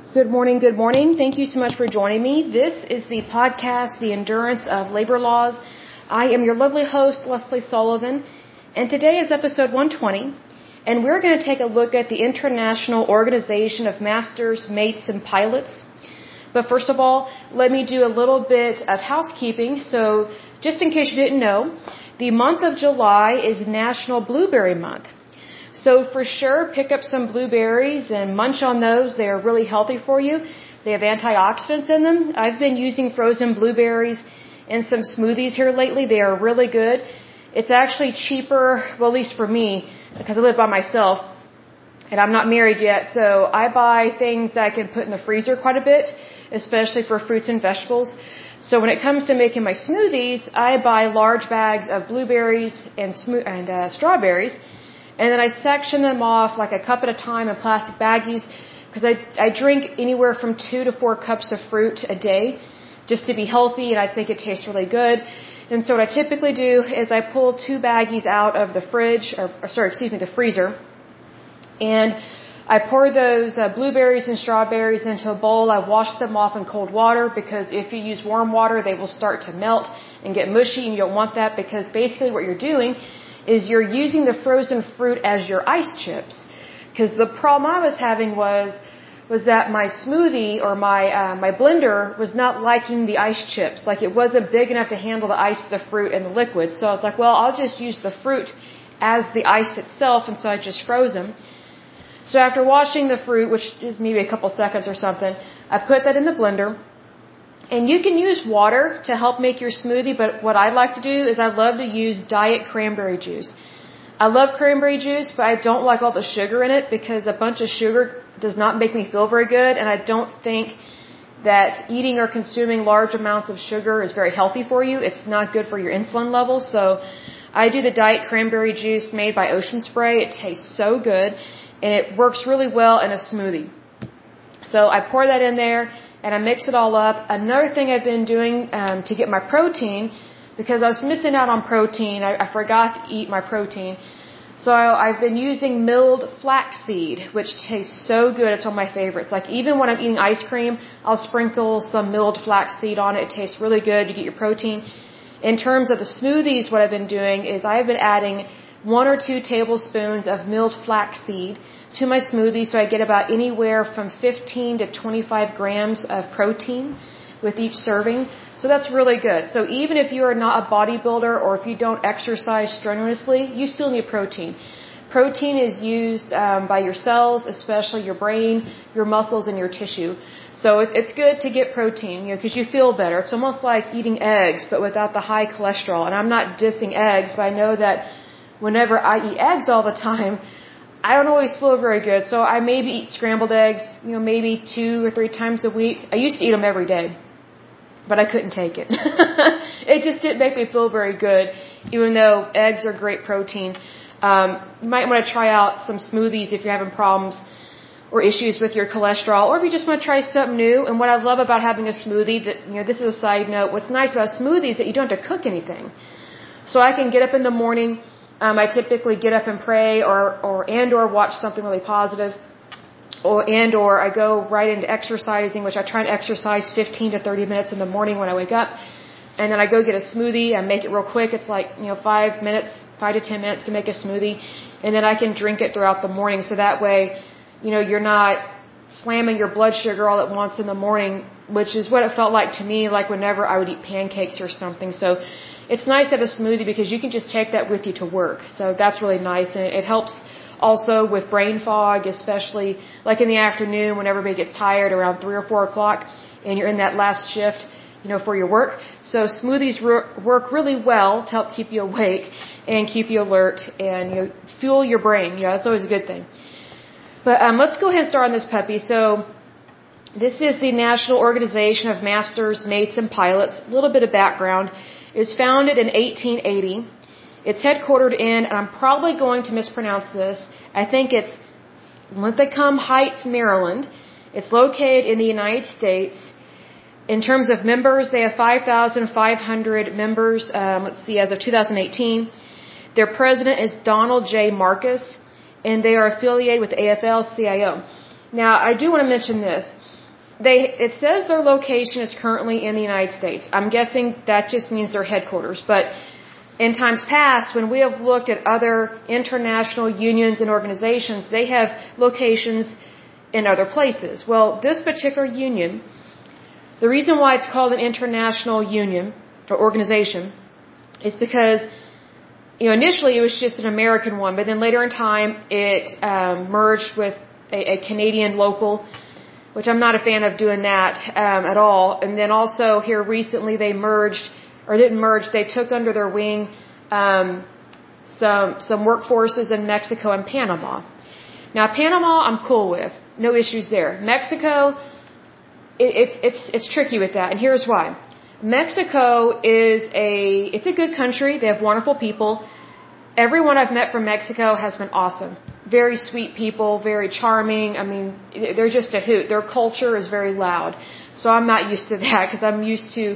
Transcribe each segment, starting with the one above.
Good morning, good morning. Thank you so much for joining me. This is the podcast, The Endurance of Labor Laws. I am your lovely host, Leslie Sullivan, and today is episode 120, and we're going to take a look at the International Organization of Masters, Mates, and Pilots. But first of all, let me do a little bit of housekeeping. So, just in case you didn't know, the month of July is National Blueberry Month. So for sure, pick up some blueberries and munch on those. They are really healthy for you. They have antioxidants in them. I've been using frozen blueberries in some smoothies here lately. They are really good. It's actually cheaper, well, at least for me, because I live by myself and I'm not married yet. So I buy things that I can put in the freezer quite a bit, especially for fruits and vegetables. So when it comes to making my smoothies, I buy large bags of blueberries and strawberries. And then I section them off like a cup at a time in plastic baggies because I drink anywhere from 2 to 4 cups of fruit a day just to be healthy, and I think it tastes really good. And so what I typically do is I pull 2 baggies out of the the freezer, and I pour those blueberries and strawberries into a bowl. I wash them off in cold water because if you use warm water, they will start to melt and get mushy, and you don't want that because basically what you're doing is you're using the frozen fruit as your ice chips. Because the problem I was having was that my smoothie or my blender was not liking the ice chips. Like it wasn't big enough to handle the ice, the fruit, and the liquid. So I was like, well, I'll just use the fruit as the ice itself, and so I just froze them. So after washing the fruit, which is maybe a couple seconds or something, I put that in the blender. And you can use water to help make your smoothie, but what I like to do is I love to use diet cranberry juice. I love cranberry juice, but I don't like all the sugar in it because a bunch of sugar does not make me feel very good, and I don't think that eating or consuming large amounts of sugar is very healthy for you. It's not good for your insulin levels, so I do the diet cranberry juice made by Ocean Spray. It tastes so good, and it works really well in a smoothie. So I pour that in there, and I mix it all up. Another thing I've been doing to get my protein, because I was missing out on protein, I forgot to eat my protein. So I've been using milled flaxseed, which tastes so good. It's one of my favorites. Like even when I'm eating ice cream, I'll sprinkle some milled flaxseed on it. It tastes really good. You get your protein. In terms of the smoothies, what I've been doing is I've been adding 1 or 2 tablespoons of milled flaxseed to my smoothie, so I get about anywhere from 15 to 25 grams of protein with each serving. So that's really good. So even if you are not a bodybuilder or if you don't exercise strenuously, you still need protein. Protein is used by your cells, especially your brain, your muscles, and your tissue. So it's good to get protein, because you feel better. It's almost like eating eggs, but without the high cholesterol. And I'm not dissing eggs, but I know that whenever I eat eggs all the time, I don't always feel very good. So I maybe eat scrambled eggs, maybe 2 or 3 times a week. I used to eat them every day, but I couldn't take it. It just didn't make me feel very good, even though eggs are great protein. You might want to try out some smoothies if you're having problems or issues with your cholesterol, or if you just want to try something new. And what I love about having a smoothie, this is a side note, what's nice about a smoothie is that you don't have to cook anything. So I can get up in the morning. I typically get up and pray or watch something really positive, or I go right into exercising, which I try and exercise 15 to 30 minutes in the morning when I wake up. And then I go get a smoothie. I make it real quick. It's like, 5 to 10 minutes to make a smoothie. And then I can drink it throughout the morning. So that way, you're not slamming your blood sugar all at once in the morning, which is what it felt like to me, like whenever I would eat pancakes or something. So it's nice to have a smoothie because you can just take that with you to work. So that's really nice. And it helps also with brain fog, especially like in the afternoon when everybody gets tired around 3 or 4 o'clock and you're in that last shift, for your work. So smoothies work really well to help keep you awake and keep you alert and, fuel your brain. That's always a good thing. But let's go ahead and start on this puppy. So this is the National Organization of Masters, Mates, and Pilots. A little bit of background. It was founded in 1880. It's headquartered in, and I'm probably going to mispronounce this, I think it's Linthicum Heights, Maryland. It's located in the United States. In terms of members, they have 5,500 members, as of 2018. Their president is Donald J. Marcus, and they are affiliated with the AFL-CIO. Now, I do want to mention this. it says their location is currently in the United States. I'm guessing that just means their headquarters. But in times past, when we have looked at other international unions and organizations, they have locations in other places. Well, this particular union, the reason why it's called an international union or organization is because, initially it was just an American one, but then later in time it merged with a Canadian local, which I'm not a fan of doing that at all. And then also here recently they merged, or didn't merge, they took under their wing some workforces in Mexico and Panama. Now Panama I'm cool with, no issues there. Mexico, it's tricky with that, and here's why. Mexico it's a good country. They have wonderful people. Everyone I've met from Mexico has been awesome. Very sweet people, very charming. I mean, they're just a hoot. Their culture is very loud. So I'm not used to that because I'm used to,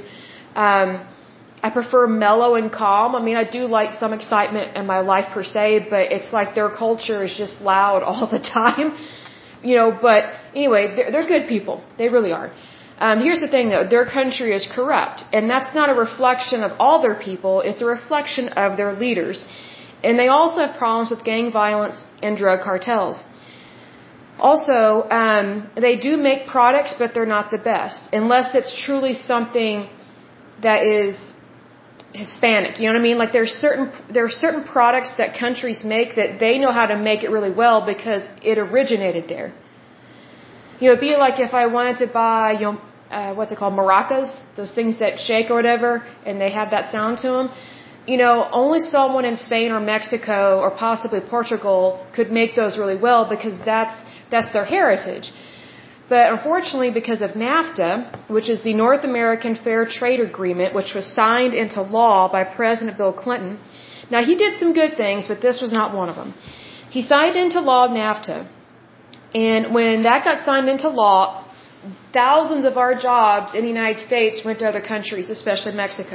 I prefer mellow and calm. I mean, I do like some excitement in my life per se, but it's like their culture is just loud all the time. But anyway, they're good people. They really are. Here's the thing though, their country is corrupt. And that's not a reflection of all their people, it's a reflection of their leaders. And they also have problems with gang violence and drug cartels. Also, they do make products, but they're not the best. Unless it's truly something that is Hispanic. You know what I mean? Like there are certain products that countries make that they know how to make it really well because it originated there. It'd be like if I wanted to buy, what's it called, maracas, those things that shake or whatever, and they have that sound to them. Only someone in Spain or Mexico or possibly Portugal could make those really well because that's their heritage. But unfortunately, because of NAFTA, which is the North American Fair Trade Agreement, which was signed into law by President Bill Clinton. Now, he did some good things, but this was not one of them. He signed into law NAFTA. And when that got signed into law, thousands of our jobs in the United States went to other countries, especially Mexico.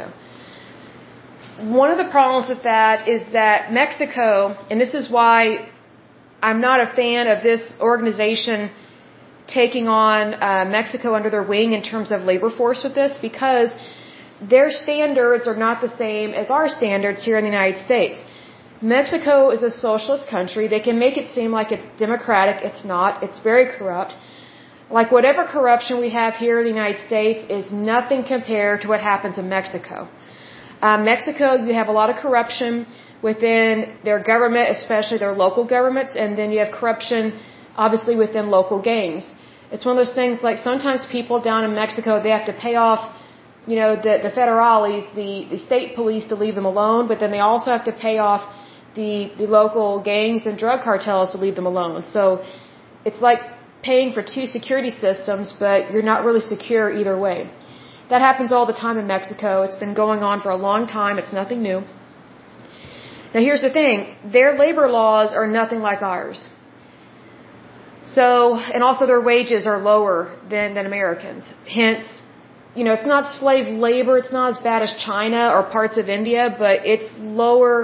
One of the problems with that is that Mexico, and this is why I'm not a fan of this organization taking on Mexico under their wing in terms of labor force with this, because their standards are not the same as our standards here in the United States. Mexico is a socialist country. They can make it seem like it's democratic. It's not. It's very corrupt. Like whatever corruption we have here in the United States is nothing compared to what happens in Mexico. Mexico, you have a lot of corruption within their government, especially their local governments, and then you have corruption, obviously, within local gangs. It's one of those things like sometimes people down in Mexico, they have to pay off, the federales, the state police to leave them alone, but then they also have to pay off the local gangs and drug cartels to leave them alone. So it's like paying for two security systems, but you're not really secure either way. That happens all the time in Mexico. It's been going on for a long time. It's nothing new. Now here's the thing. Their labor laws are nothing like ours. So, and also their wages are lower than Americans. Hence, it's not slave labor. It's not as bad as China or parts of India, but it's lower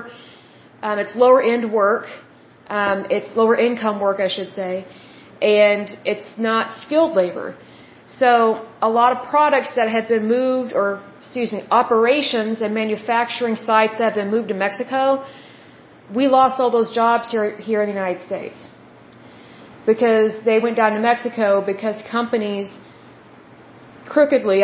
end work. It's lower income work, I should say. And it's not skilled labor. So a lot of products that have been moved, operations and manufacturing sites that have been moved to Mexico, we lost all those jobs here in the United States. Because they went down to Mexico because companies crookedly,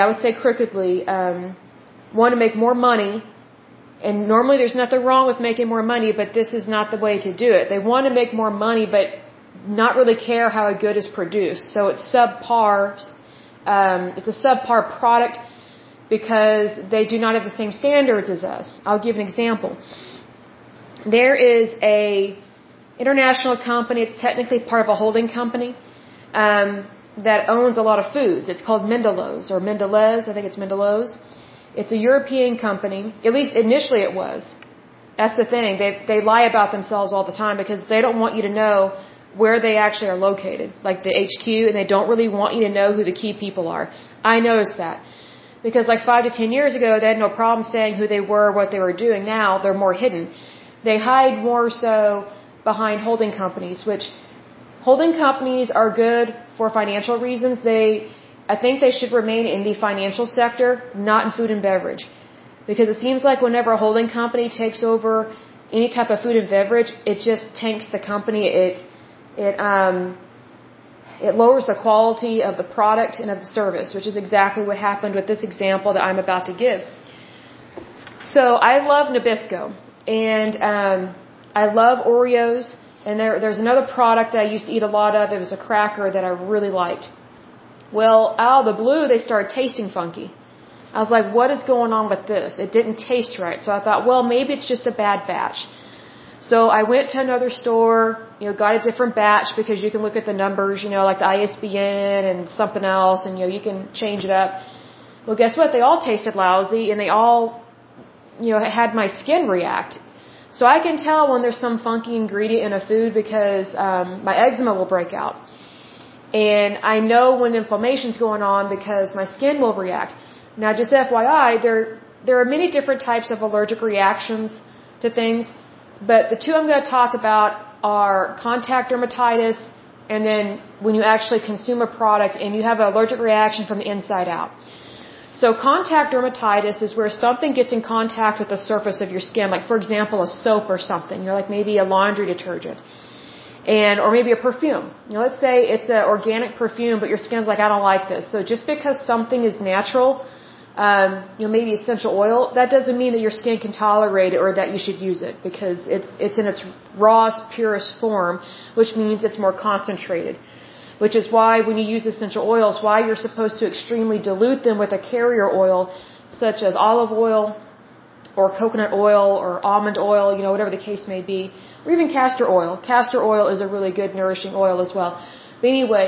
want to make more money. And normally there's nothing wrong with making more money, but this is not the way to do it. They want to make more money, but not really care how a good is produced. So it's subpar. It's a subpar product because they do not have the same standards as us. I'll give an example. There is a international company. It's technically part of a holding company that owns a lot of foods. It's called Mendelos or Mendelez. I think it's Mendelos. It's a European company. At least initially it was. That's the thing. They lie about themselves all the time because they don't want you to know where they actually are located, like the HQ, and they don't really want you to know who the key people are. I noticed that. Because like 5 to 10 years ago, they had no problem saying who they were, what they were doing. Now they're more hidden. They hide more so behind holding companies, which holding companies are good for financial reasons. I think they should remain in the financial sector, not in food and beverage. Because it seems like whenever a holding company takes over any type of food and beverage, it just tanks the company. It lowers the quality of the product and of the service, which is exactly what happened with this example that I'm about to give. So I love Nabisco, and I love Oreos, and there's another product that I used to eat a lot of. It was a cracker that I really liked. Well, out of the blue, they started tasting funky. I was like, what is going on with this? It didn't taste right. So I thought, well, maybe it's just a bad batch. So I went to another store, got a different batch because you can look at the numbers, like the ISBN and something else, and, you can change it up. Well, guess what? They all tasted lousy, and they all, had my skin react. So I can tell when there's some funky ingredient in a food because my eczema will break out. And I know when inflammation's going on because my skin will react. Now, just FYI, there are many different types of allergic reactions to things, but the two I'm going to talk about are contact dermatitis and then when you actually consume a product and you have an allergic reaction from the inside out. So contact dermatitis is where something gets in contact with the surface of your skin, like for example a soap or something, like maybe a laundry detergent. Or maybe a perfume. Let's say it's an organic perfume, but your skin's like, I don't like this. So just because something is natural, maybe essential oil, that doesn't mean that your skin can tolerate it or that you should use it because it's in its rawest, purest form, which means it's more concentrated. Which is why when you use essential oils, why you're supposed to extremely dilute them with a carrier oil, such as olive oil or coconut oil or almond oil, whatever the case may be, or even castor oil. Castor oil is a really good nourishing oil as well. But anyway,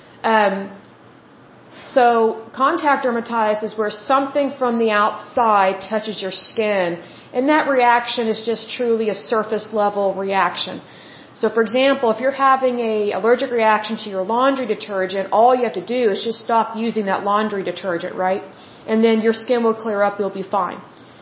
so contact dermatitis is where something from the outside touches your skin, and that reaction is just truly a surface level reaction. So for example, if you're having an allergic reaction to your laundry detergent, all you have to do is just stop using that laundry detergent, right? And then your skin will clear up, you'll be fine.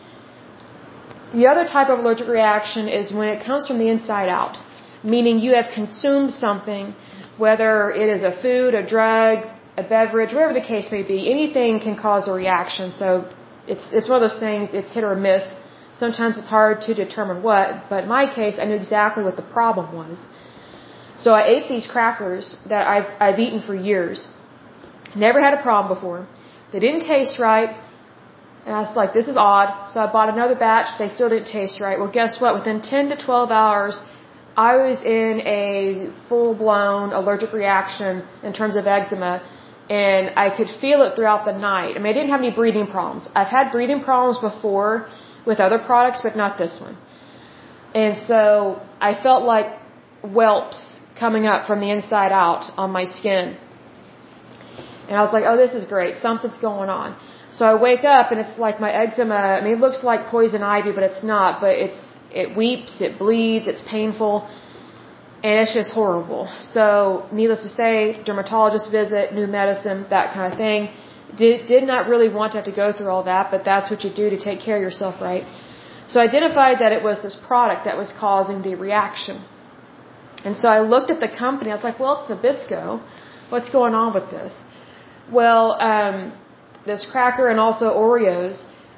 The other type of allergic reaction is when it comes from the inside out, meaning you have consumed something, whether it is a food, a drug, a beverage, whatever the case may be, anything can cause a reaction. So it's one of those things, it's hit or miss. Sometimes it's hard to determine what, but in my case, I knew exactly what the problem was. So I ate these crackers that I've eaten for years. Never had a problem before. They didn't taste right. And I was like, this is odd. So I bought another batch. They still didn't taste right. Well, guess what? Within 10 to 12 hours, I was in a full-blown allergic reaction in terms of eczema. And I could feel it throughout the night. I mean, I didn't have any breathing problems. I've had breathing problems before with other products, but not this one. And so I felt like whelps coming up from the inside out on my skin. And I was like, oh, this is great. Something's going on. So I wake up and it's like my eczema, I mean, it looks like poison ivy, but it's not. But it weeps, it bleeds, it's painful, and it's just horrible. So needless to say, dermatologist visit, new medicine, that kind of thing. Did not really want to have to go through all that, but that's what you do to take care of yourself, right? So I identified that it was this product that was causing the reaction. And so I looked at the company. I was like, well, it's Nabisco. What's going on with this? Well, this cracker and also Oreos,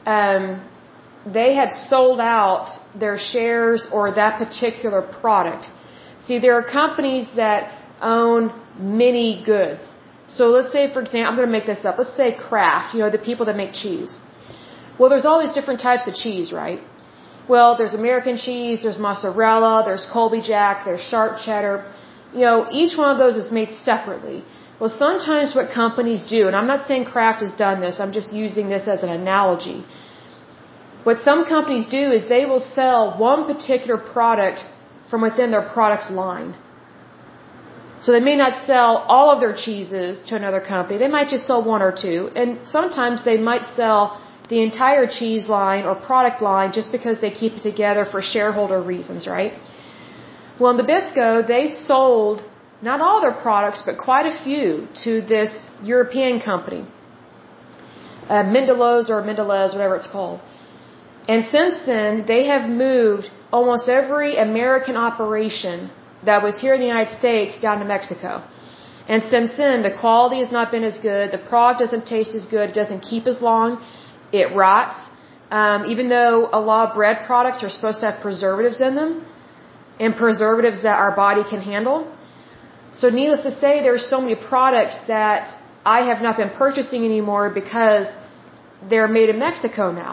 they had sold out their shares or that particular product. See, there are companies that own many goods. So let's say, for example, I'm going to make this up. Let's say Kraft, the people that make cheese. Well, there's all these different types of cheese, right? Well, there's American cheese, there's mozzarella, there's Colby Jack, there's sharp cheddar. Each one of those is made separately. Well, sometimes what companies do, and I'm not saying Kraft has done this, I'm just using this as an analogy. What some companies do is they will sell one particular product from within their product line. So they may not sell all of their cheeses to another company. They might just sell one or two. And sometimes they might sell the entire cheese line or product line just because they keep it together for shareholder reasons, right? Well, in Nabisco, they sold not all their products, but quite a few to this European company. Mendelows or Mendelez, whatever it's called. And since then, they have moved almost every American operation that was here in the United States down to Mexico. And since then, the quality has not been as good, the product doesn't taste as good, it doesn't keep as long, it rots. Even though a lot of bread products are supposed to have preservatives in them, and preservatives that our body can handle. So needless to say, there are so many products that I have not been purchasing anymore because they're made in Mexico now.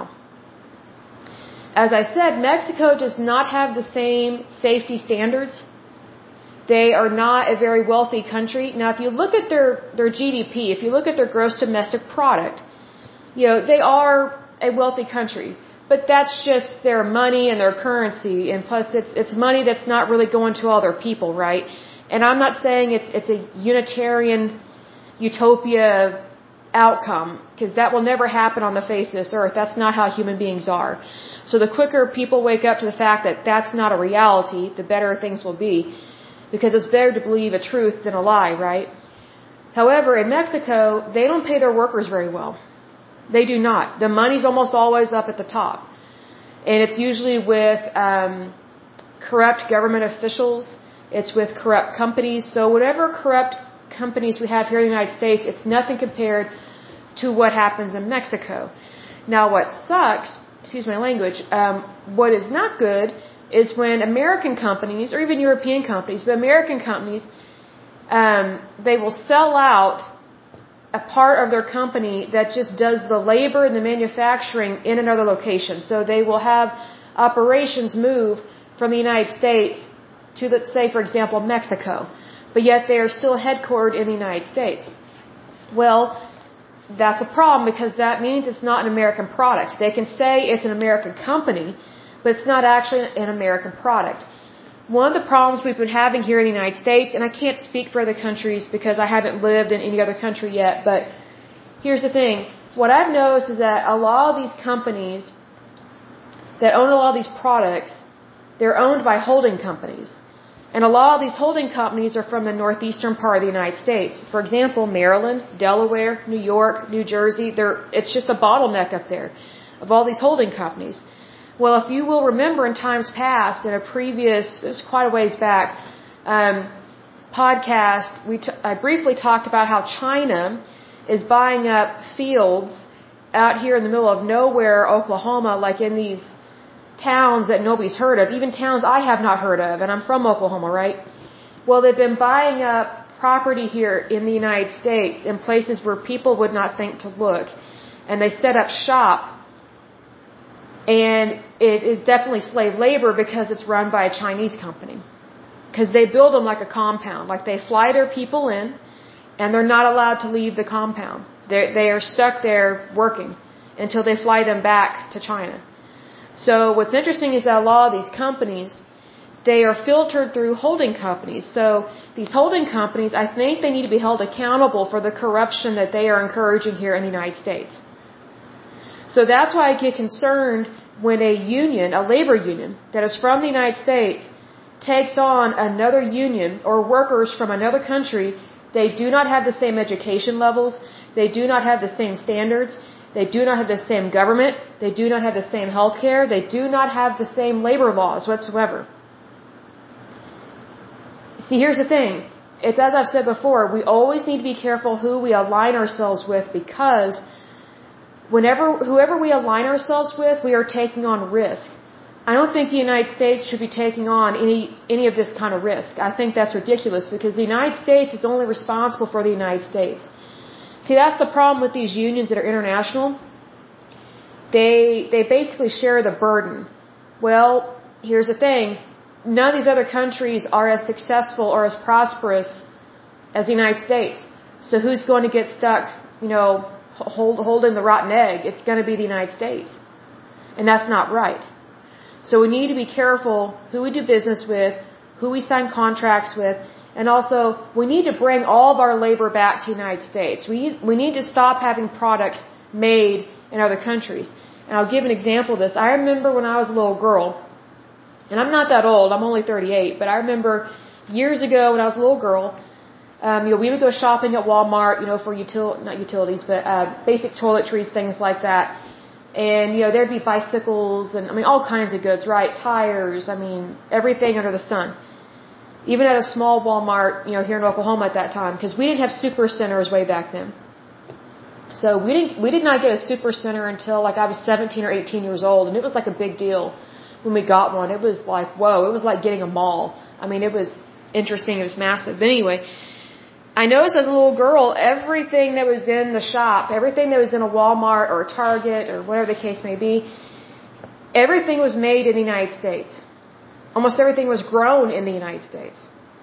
As I said, Mexico does not have the same safety standards. They are not a very wealthy country. Now, if you look at their GDP, if you look at their gross domestic product, they are a wealthy country. But that's just their money and their currency, and plus it's money that's not really going to all their people, right? And I'm not saying it's a unitarian utopia outcome, because that will never happen on the face of this earth. That's not how human beings are. So the quicker people wake up to the fact that that's not a reality, the better things will be, because it's better to believe a truth than a lie, right? However, in Mexico, they don't pay their workers very well. They do not. The money's almost always up at the top. And it's usually with corrupt government officials. It's with corrupt companies. So whatever corrupt companies we have here in the United States, it's nothing compared to what happens in Mexico. Now, what sucks, excuse my language, what is not good is when American companies, or even European companies, but American companies, they will sell out a part of their company that just does the labor and the manufacturing in another location. So they will have operations move from the United States to, let's say, for example, Mexico, but yet they are still headquartered in the United States. Well, that's a problem, because that means it's not an American product. They can say it's an American company, but it's not actually an American product. One of the problems we've been having here in the United States, and I can't speak for other countries because I haven't lived in any other country yet, but here's the thing. What I've noticed is that a lot of these companies that own a lot of these products, they're owned by holding companies. And a lot of these holding companies are from the northeastern part of the United States. For example, Maryland, Delaware, New York, New Jersey, it's just a bottleneck up there of all these holding companies. Well, if you will remember in times past, in a previous, it was quite a ways back, podcast, I briefly talked about how China is buying up fields out here in the middle of nowhere, Oklahoma, like in these towns that nobody's heard of, even towns I have not heard of, and I'm from Oklahoma, right? Well, they've been buying up property here in the United States in places where people would not think to look, and they set up shop. And it is definitely slave labor because it's run by a Chinese company. Because they build them like a compound. Like they fly their people in, and they're not allowed to leave the compound. They are stuck there working until they fly them back to China. So what's interesting is that a lot of these companies, they are filtered through holding companies. So these holding companies, I think they need to be held accountable for the corruption that they are encouraging here in the United States. So that's why I get concerned when a union, a labor union, that is from the United States takes on another union or workers from another country. They do not have the same education levels. They do not have the same standards. They do not have the same government. They do not have the same health care. They do not have the same labor laws whatsoever. See, here's the thing. It's as I've said before, we always need to be careful who we align ourselves with, because whoever we align ourselves with, we are taking on risk. I don't think the United States should be taking on any of this kind of risk. I think that's ridiculous, because the United States is only responsible for the United States. See, that's the problem with these unions that are international. They basically share the burden. Well, here's the thing. None of these other countries are as successful or as prosperous as the United States. So who's going to get stuck, holding the rotten egg? It's going to be the United States. And that's not right. So we need to be careful who we do business with, who we sign contracts with, and also we need to bring all of our labor back to the United States. We need to stop having products made in other countries. And I'll give an example of this. I remember when I was a little girl, and I'm not that old, I'm only 38, but I remember years ago when I was a little girl, we would go shopping at Walmart, for not utilities, but basic toiletries, things like that. And, there'd be bicycles and, all kinds of goods, right? Tires, everything under the sun. even at a small Walmart, here in Oklahoma at that time, because we didn't have super centers way back then. So we did not get a super center until like I was 17 or 18 years old, and it was like a big deal when we got one. It was like, whoa, it was like getting a mall. I mean, it was interesting, it was massive. But anyway, I noticed as a little girl, everything that was in the shop, everything that was in a Walmart or a Target or whatever the case may be, everything was made in the United States. Almost everything was grown in the United States.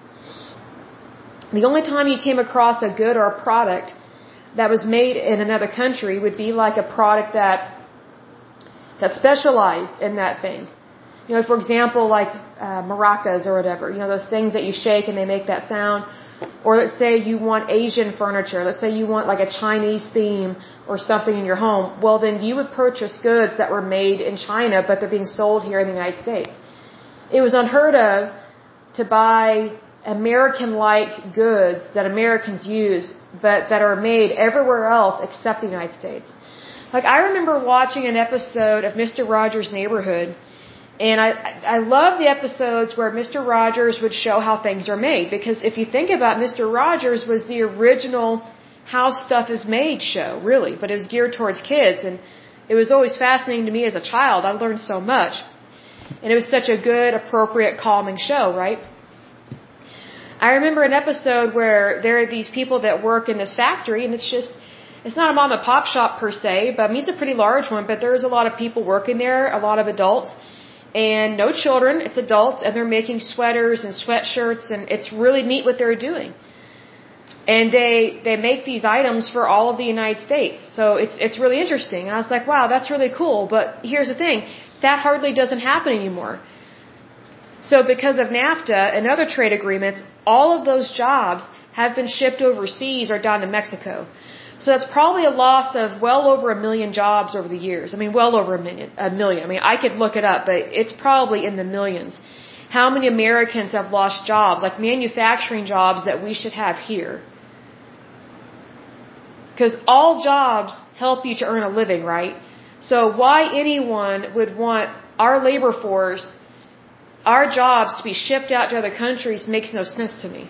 The only time you came across a good or a product that was made in another country would be like a product that specialized in that thing. For example, like maracas or whatever, those things that you shake and they make that sound. Or let's say you want Asian furniture. Let's say you want like a Chinese theme or something in your home. Well, then you would purchase goods that were made in China, but they're being sold here in the United States. It was unheard of to buy American-like goods that Americans use, but that are made everywhere else except the United States. Like, I remember watching an episode of Mr. Rogers' Neighborhood, and I love the episodes where Mr. Rogers would show how things are made, because if you think about it, Mr. Rogers was the original How Stuff Is Made show, really, but it was geared towards kids, and it was always fascinating to me as a child. I learned so much. And it was such a good, appropriate, calming show, right? I remember an episode where there are these people that work in this factory, and it's not a mom and pop shop per se, but I mean, it's a pretty large one, but there's a lot of people working there, a lot of adults, and no children, it's adults, and they're making sweaters and sweatshirts, and it's really neat what they're doing. And they make these items for all of the United States. So it's really interesting. And I was like, wow, that's really cool. But here's the thing, that hardly doesn't happen anymore. So because of NAFTA and other trade agreements, all of those jobs have been shipped overseas or down to Mexico. So that's probably a loss of well over 1 million jobs over the years. I mean, well over a million. I mean, I could look it up, but it's probably in the millions. How many Americans have lost jobs, like manufacturing jobs that we should have here? Because all jobs help you to earn a living, right? So why anyone would want our labor force, our jobs to be shipped out to other countries makes no sense to me.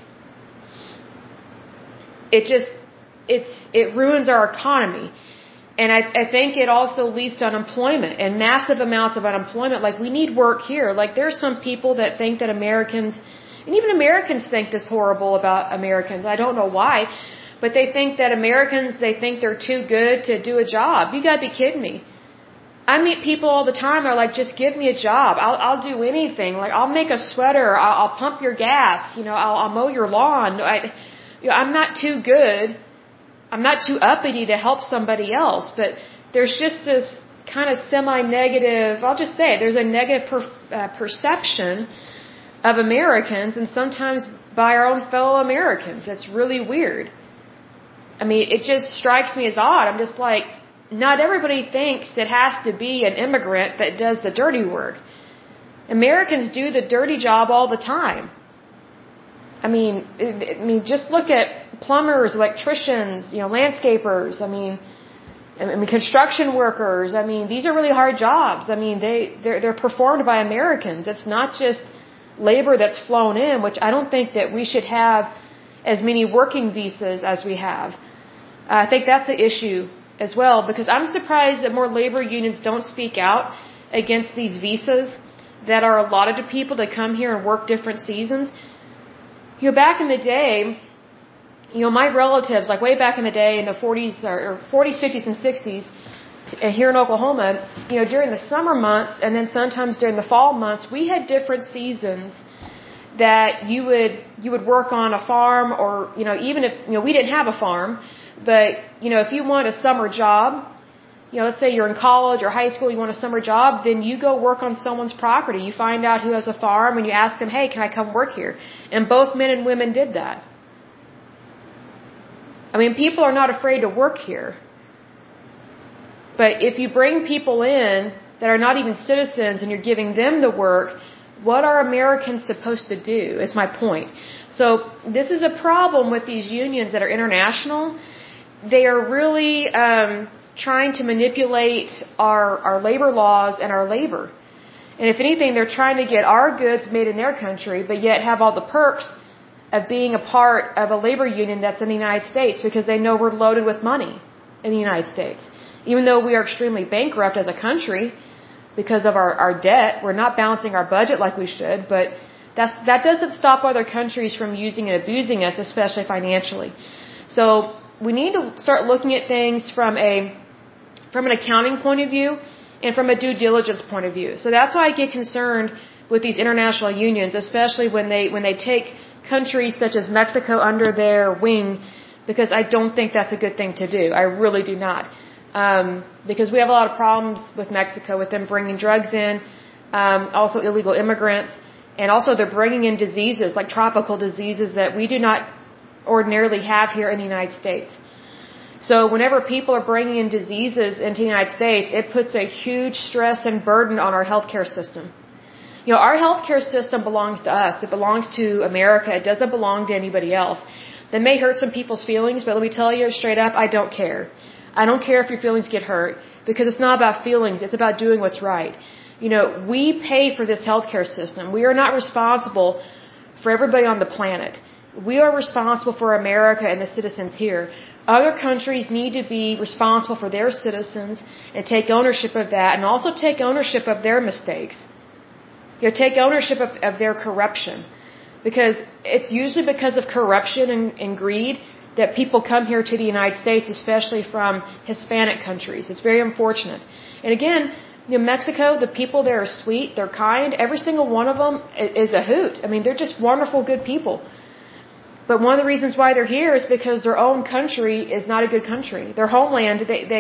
It ruins our economy. And I think it also leads to unemployment and massive amounts of unemployment. Like, we need work here. Like, there's some people that think that Americans, and even Americans think this horrible about Americans. I don't know why, but they think that Americans, they think they're too good to do a job. You gotta be kidding me. I meet people all the time that are like, just give me a job. I'll do anything. Like, I'll make a sweater. I'll pump your gas. I'll mow your lawn. I'm not too good. I'm not too uppity to help somebody else. But there's just this kind of semi-negative, I'll just say it, there's a negative perception of Americans, and sometimes by our own fellow Americans. It's really weird. I mean, it just strikes me as odd. I'm just like, not everybody thinks it has to be an immigrant that does the dirty work. Americans do the dirty job all the time. I mean, just look at plumbers, electricians, landscapers. I mean, construction workers. I mean, these are really hard jobs. I mean, they're performed by Americans. It's not just labor that's flown in, which I don't think that we should have as many working visas as we have. I think that's an issue as well, because I'm surprised that more labor unions don't speak out against these visas that are allotted to people to come here and work different seasons. Back in the day, my relatives, like way back in the day in the 40s, 50s, and 60s, here in Oklahoma, during the summer months and then sometimes during the fall months, we had different seasons that you would work on a farm, or even if we didn't have a farm, but if you want a summer job, let's say you're in college or high school, you want a summer job, then you go work on someone's property. You find out who has a farm and you ask them, hey, can I come work here? And both men and women did that. I mean, people are not afraid to work here. But if you bring people in that are not even citizens and you're giving them the work, what are Americans supposed to do, is my point. So this is a problem with these unions that are international. They are really trying to manipulate our labor laws and our labor. And if anything, they're trying to get our goods made in their country, but yet have all the perks of being a part of a labor union that's in the United States because they know we're loaded with money in the United States. Even though we are extremely bankrupt as a country because of our debt, we're not balancing our budget like we should, but that doesn't stop other countries from using and abusing us, especially financially. So we need to start looking at things from an accounting point of view and from a due diligence point of view. So that's why I get concerned with these international unions, especially when they take countries such as Mexico under their wing, because I don't think that's a good thing to do. I really do not. Because we have a lot of problems with Mexico, with them bringing drugs in, also illegal immigrants, and also they're bringing in diseases like tropical diseases that we do not ordinarily have here in the United States. So whenever people are bringing in diseases into the United States, it puts a huge stress and burden on our healthcare system. You know, our healthcare system belongs to us. It belongs to America. It doesn't belong to anybody else. That may hurt some people's feelings, but let me tell you straight up, I don't care. I don't care if your feelings get hurt, because it's not about feelings. It's about doing what's right. You know, we pay for this healthcare system. We are not responsible for everybody on the planet. We are responsible for America and the citizens here. Other countries need to be responsible for their citizens and take ownership of that, and also take ownership of their mistakes. You know, take ownership of their corruption. Because it's usually because of corruption and greed that people come here to the United States, especially from Hispanic countries. It's very unfortunate. And again, you know, Mexico, the people there are sweet, they're kind. Every single one of them is a hoot. I mean, they're just wonderful, good people. But one of the reasons why they're here is because their own country is not a good country. Their homeland,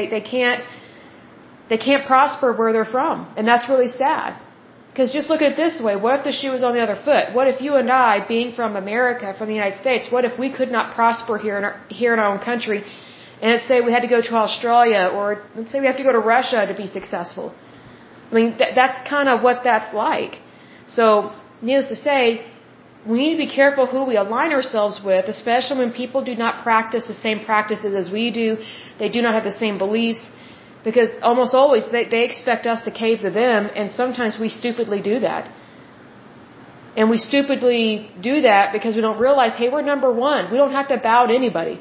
they can't prosper where they're from. And that's really sad. Because just look at it this way, what if the shoe was on the other foot? What if you and I, being from America, from the United States, what if we could not prosper here in our own country, and let's say we had to go to Australia, or let's say we have to go to Russia to be successful? I mean, that's kind of what that's like. So, needless to say, we need to be careful who we align ourselves with, especially when people do not practice the same practices as we do, they do not have the same beliefs. Because almost always they expect us to cave to them, and sometimes we stupidly do that. And we stupidly do that because we don't realize, hey, we're number one. We don't have to bow to anybody.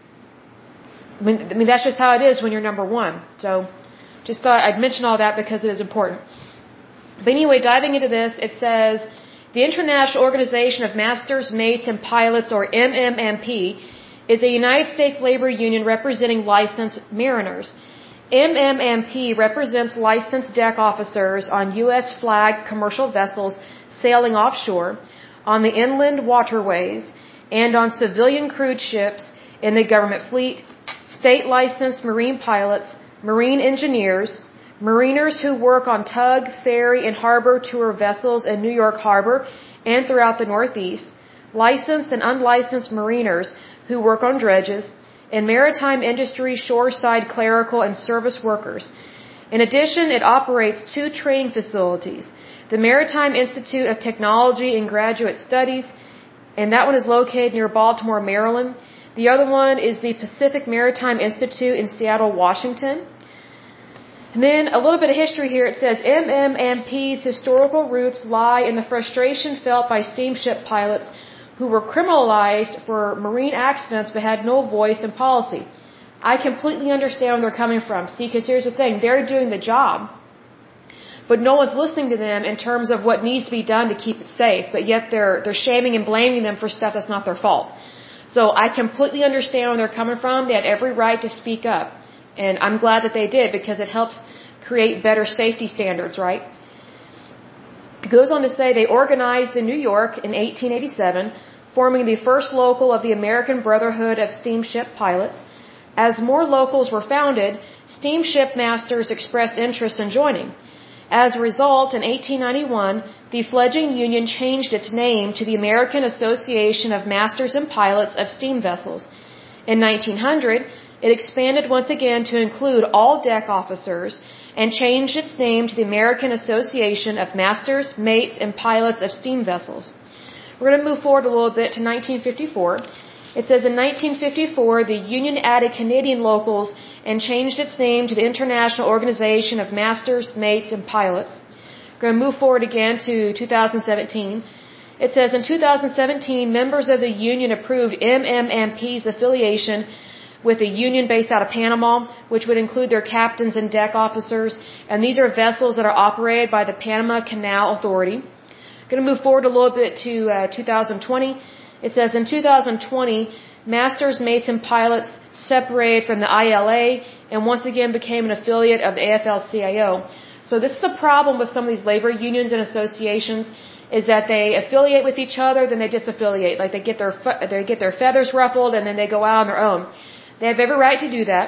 I mean that's just how it is when you're number one. So just thought I'd mention all that because it is important. But anyway, diving into this, it says, the International Organization of Masters, Mates, and Pilots, or MMMP, is a United States labor union representing licensed mariners. MMMP represents licensed deck officers on U.S. flag commercial vessels sailing offshore, on the inland waterways, and on civilian crewed ships in the government fleet, state licensed marine pilots, marine engineers, mariners who work on tug, ferry, and harbor tour vessels in New York Harbor and throughout the Northeast, licensed and unlicensed mariners who work on dredges, and maritime industry shoreside clerical and service workers. In addition, it operates 2 training facilities, the Maritime Institute of Technology and Graduate Studies, and that one is located near Baltimore, Maryland. The other one is the Pacific Maritime Institute in Seattle, Washington. And then a little bit of history here. It says MMMP's historical roots lie in the frustration felt by steamship pilots who were criminalized for marine accidents but had no voice in policy. I completely understand where they're coming from. See, because here's the thing. They're doing the job, but no one's listening to them in terms of what needs to be done to keep it safe, but yet they're shaming and blaming them for stuff that's not their fault. So I completely understand where they're coming from. They had every right to speak up, and I'm glad that they did because it helps create better safety standards, right? It goes on to say they organized in New York in 1887, forming the first local of the American Brotherhood of Steamship Pilots. As more locals were founded, steamship masters expressed interest in joining. As a result, in 1891, the fledgling union changed its name to the American Association of Masters and Pilots of Steam Vessels. In 1900, it expanded once again to include all deck officers and changed its name to the American Association of Masters, Mates, and Pilots of Steam Vessels. We're going to move forward a little bit to 1954. It says in 1954, the union added Canadian locals and changed its name to the International Organization of Masters, Mates, and Pilots. Going to move forward again to 2017. It says in 2017, members of the union approved MMMP's affiliation with a union based out of Panama, which would include their captains and deck officers. And these are vessels that are operated by the Panama Canal Authority. Going to move forward a little bit to 2020. It says in 2020, masters, mates, and pilots separated from the ILA and once again became an affiliate of the AFL-CIO. So this is a problem with some of these labor unions and associations, is that they affiliate with each other, then they disaffiliate. Like they get their feathers ruffled and then they go out on their own. They have every right to do that,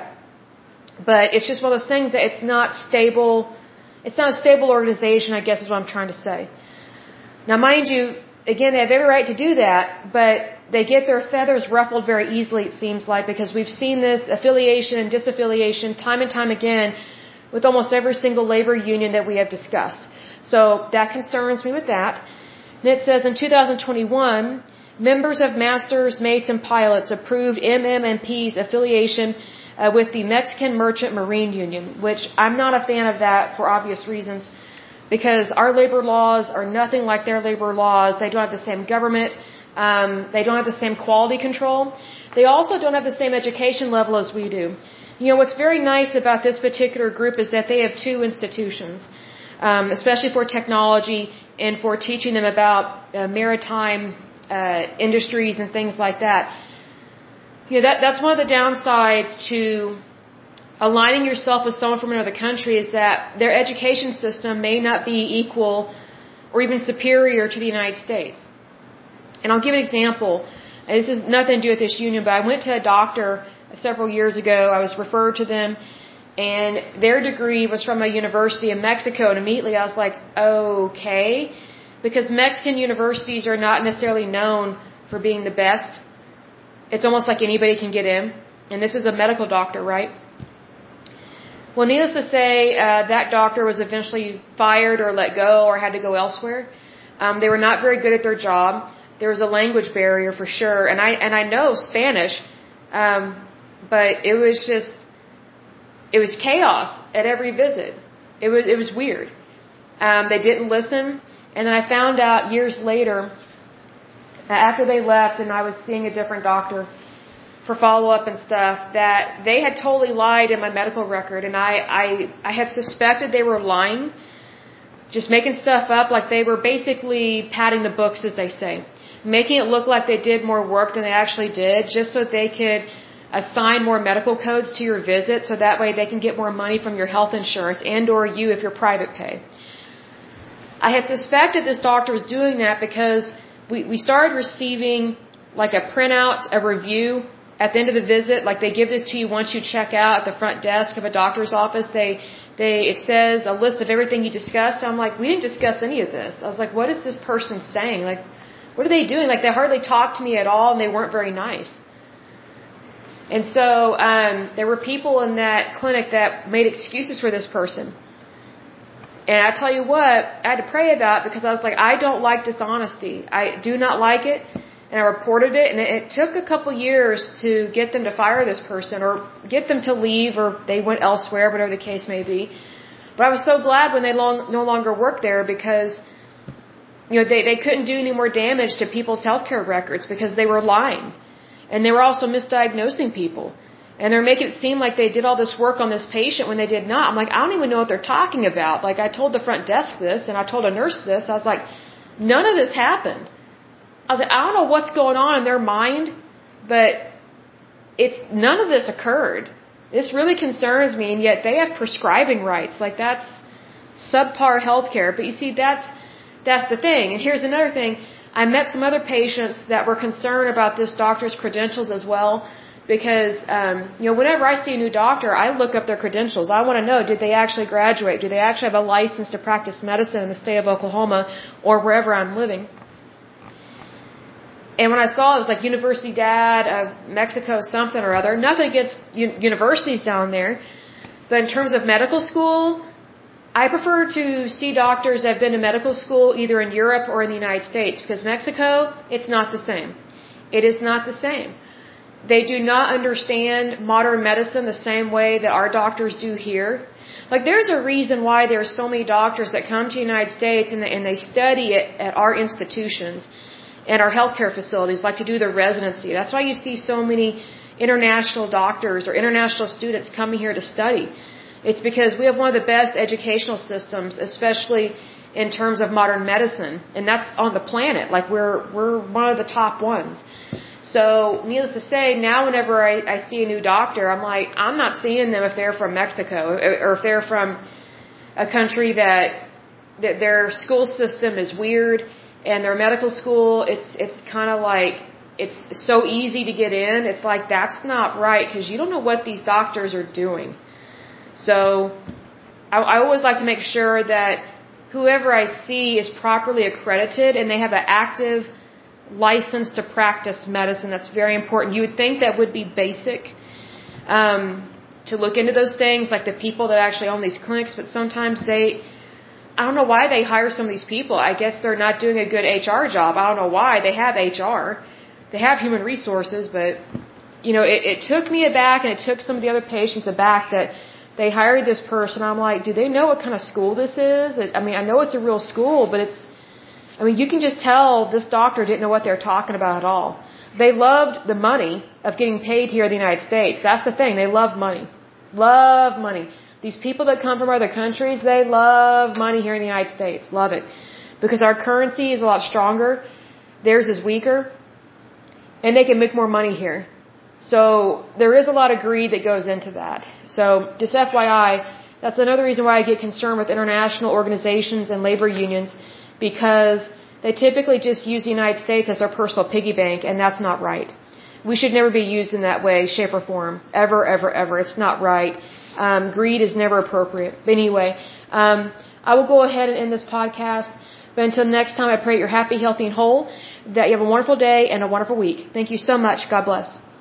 but it's just one of those things that it's not stable. It's not a stable organization, I guess is what I'm trying to say. Now, mind you, again, they have every right to do that, but they get their feathers ruffled very easily, it seems like, because we've seen this affiliation and disaffiliation time and time again with almost every single labor union that we have discussed. So that concerns me with that. And it says in 2021, members of masters, mates, and pilots approved MMMP's affiliation with the Mexican Merchant Marine Union, which I'm not a fan of that for obvious reasons, because our labor laws are nothing like their labor laws. They don't have the same government. They don't have the same quality control. They also don't have the same education level as we do. You know, what's very nice about this particular group is that they have two institutions, especially for technology and for teaching them about maritime industries and things like that. You know, that's one of the downsides to aligning yourself with someone from another country, is that their education system may not be equal or even superior to the United States. And I'll give an example. This has nothing to do with this union, but I went to a doctor several years ago. I was referred to them, and their degree was from a university in Mexico, and immediately I was like, okay, because Mexican universities are not necessarily known for being the best. It's almost like anybody can get in, and this is a medical doctor, right? Well, needless to say, that doctor was eventually fired or let go or had to go elsewhere. They were not very good at their job. There was a language barrier for sure, and I know Spanish, but it was chaos at every visit. It was weird. They didn't listen, and then I found out years later, after they left, and I was seeing a different doctor for follow-up and stuff, that they had totally lied in my medical record, and I had suspected they were lying, just making stuff up, like they were basically padding the books, as they say, making it look like they did more work than they actually did, just so they could assign more medical codes to your visit, so that way they can get more money from your health insurance and or you if you're private pay. I had suspected this doctor was doing that because we started receiving like a printout, a review at the end of the visit. Like they give this to you once you check out at the front desk of a doctor's office. It says a list of everything you discussed. I'm like, we didn't discuss any of this. I was like, what is this person saying? Like, what are they doing? Like they hardly talked to me at all, and they weren't very nice. And so there were people in that clinic that made excuses for this person. And I tell you what, I had to pray about it, because I was like, I don't like dishonesty. I do not like it. And I reported it, and it took a couple years to get them to fire this person or get them to leave, or they went elsewhere, whatever the case may be. But I was so glad when they no longer worked there, because you know they couldn't do any more damage to people's healthcare records because they were lying. And they were also misdiagnosing people. And they're making it seem like they did all this work on this patient when they did not. I'm like, I don't even know what they're talking about. Like, I told the front desk this, and I told a nurse this. I was like, none of this happened. I was like, I don't know what's going on in their mind, but none of this occurred. This really concerns me, and yet they have prescribing rights. Like, that's subpar healthcare. But you see, that's the thing. And here's another thing. I met some other patients that were concerned about this doctor's credentials as well, because you know, whenever I see a new doctor, I look up their credentials. I want to know, did they actually graduate? Do they actually have a license to practice medicine in the state of Oklahoma or wherever I'm living? And when I saw it was like Universidad of Mexico something or other, nothing against universities down there, but in terms of medical school, I prefer to see doctors that have been to medical school either in Europe or in the United States, because Mexico, it's not the same. It is not the same. They do not understand modern medicine the same way that our doctors do here. Like, there's a reason why there are so many doctors that come to the United States and they study at our institutions and our healthcare facilities, like to do their residency. That's why you see so many international doctors or international students coming here to study. It's because we have one of the best educational systems, especially in terms of modern medicine, and that's on the planet. Like, we're one of the top ones. So, needless to say, now whenever I see a new doctor, I'm like, I'm not seeing them if they're from Mexico or if they're from a country that their school system is weird, and their medical school, it's kind of like, it's so easy to get in. It's like, that's not right, because you don't know what these doctors are doing. So, I always like to make sure that whoever I see is properly accredited and they have an active license to practice medicine. That's very important. You would think that would be basic, to look into those things, like the people that actually own these clinics, but sometimes I don't know why they hire some of these people. I guess they're not doing a good HR job. I don't know why. They have HR. They have human resources, but, it took me aback, and it took some of the other patients aback that they hired this person. I'm like, do they know what kind of school this is? I know it's a real school, but you can just tell this doctor didn't know what they're talking about at all. They loved the money of getting paid here in the United States. That's the thing. They love money. Love money. These people that come from other countries, they love money here in the United States. Love it. Because our currency is a lot stronger. Theirs is weaker. And they can make more money here. So there is a lot of greed that goes into that. So just FYI, that's another reason why I get concerned with international organizations and labor unions, because they typically just use the United States as our personal piggy bank, and that's not right. We should never be used in that way, shape, or form. Ever, ever, ever. It's not right. Greed is never appropriate. But anyway, I will go ahead and end this podcast. But until next time, I pray you're happy, healthy, and whole, that you have a wonderful day and a wonderful week. Thank you so much. God bless.